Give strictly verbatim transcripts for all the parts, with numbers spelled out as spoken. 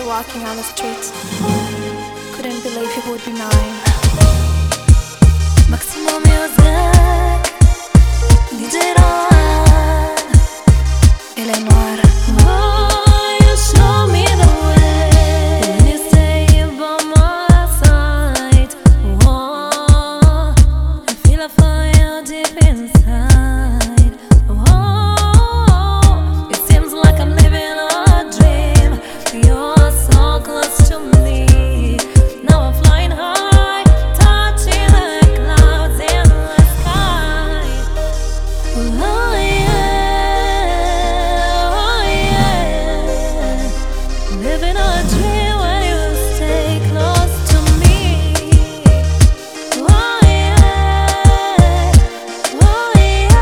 walking on the streets. Couldn't believe he would be mine. Maximo Music, D J Rohan, L Noir. Oh, you show me the way when you stay by my side. Oh, I feel a fire deep inside. Oh, it seems like I'm living a dream. You're so close to me. Now I'm flying high, touching the clouds in the sky. Oh yeah, oh yeah, living a dream when you stay close to me. Oh yeah, oh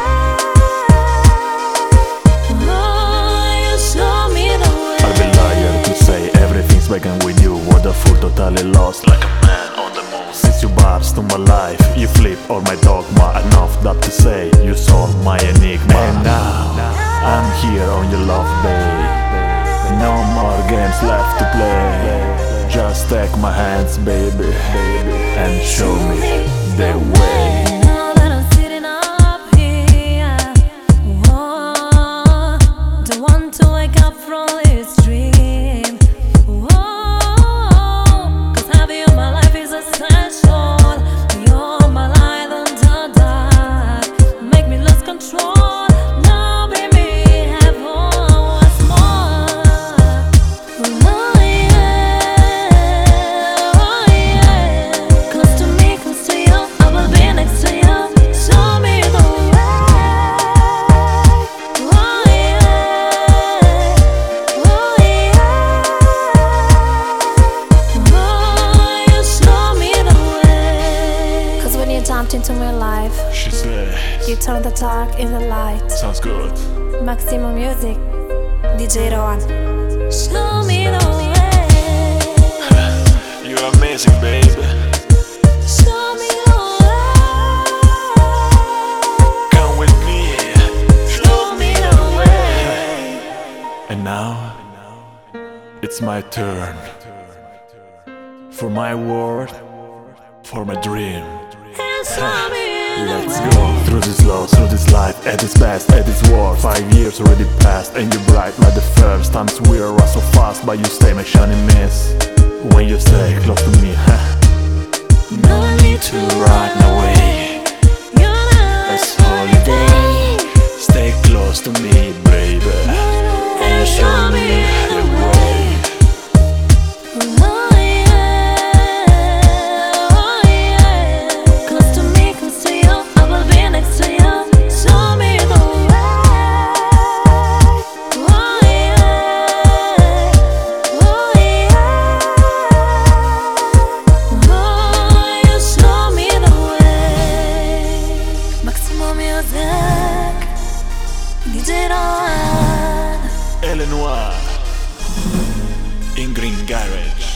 yeah, oh, you show me the way. I'd be liar to say everything's begun with you. What a fool, totally lost, like a man on the moon. Since you bars to my life, you flip all my dogma. Enough that to say, you solve my enigma. And now, I'm here on your love, babe. No more games left to play. Just take my hands, baby, and show me the way. Now that I'm sitting up here, oh, don't want to wake up from this dream. Oh, 'cause having you in my life is essential. You're my light in the dark, make me lose control. Now, baby, have once more. Oh yeah, oh yeah, close to me, close to you, I will be next to you. Show me the way. Oh yeah, oh yeah, oh, you show me the way. 'Cause when you jumped into my life, She said, you turned the dark in the light. sounds good. Maximo Music, D J Rohan. Show me the way. You're amazing, baby. Show me the way. Come with me. Show me the way. And now, it's my turn. For my world, for my dream. And show me the Let's way. go through this love, through this life, at its best, at its worst. Five years already passed, and you're bright like the first. Times we are so fast, but you stay my shining mist. When you stay close to me, huh? No need to run away. You're not It's holiday. Stay close to me, baby, and show me the way. oh yeah, oh yeah, close to me, close to you, I will be next to you. Show me the way. Oh yeah, oh yeah, oh, you show me the way. Maximo Music, D J Rohan. L Noir in Green Garage.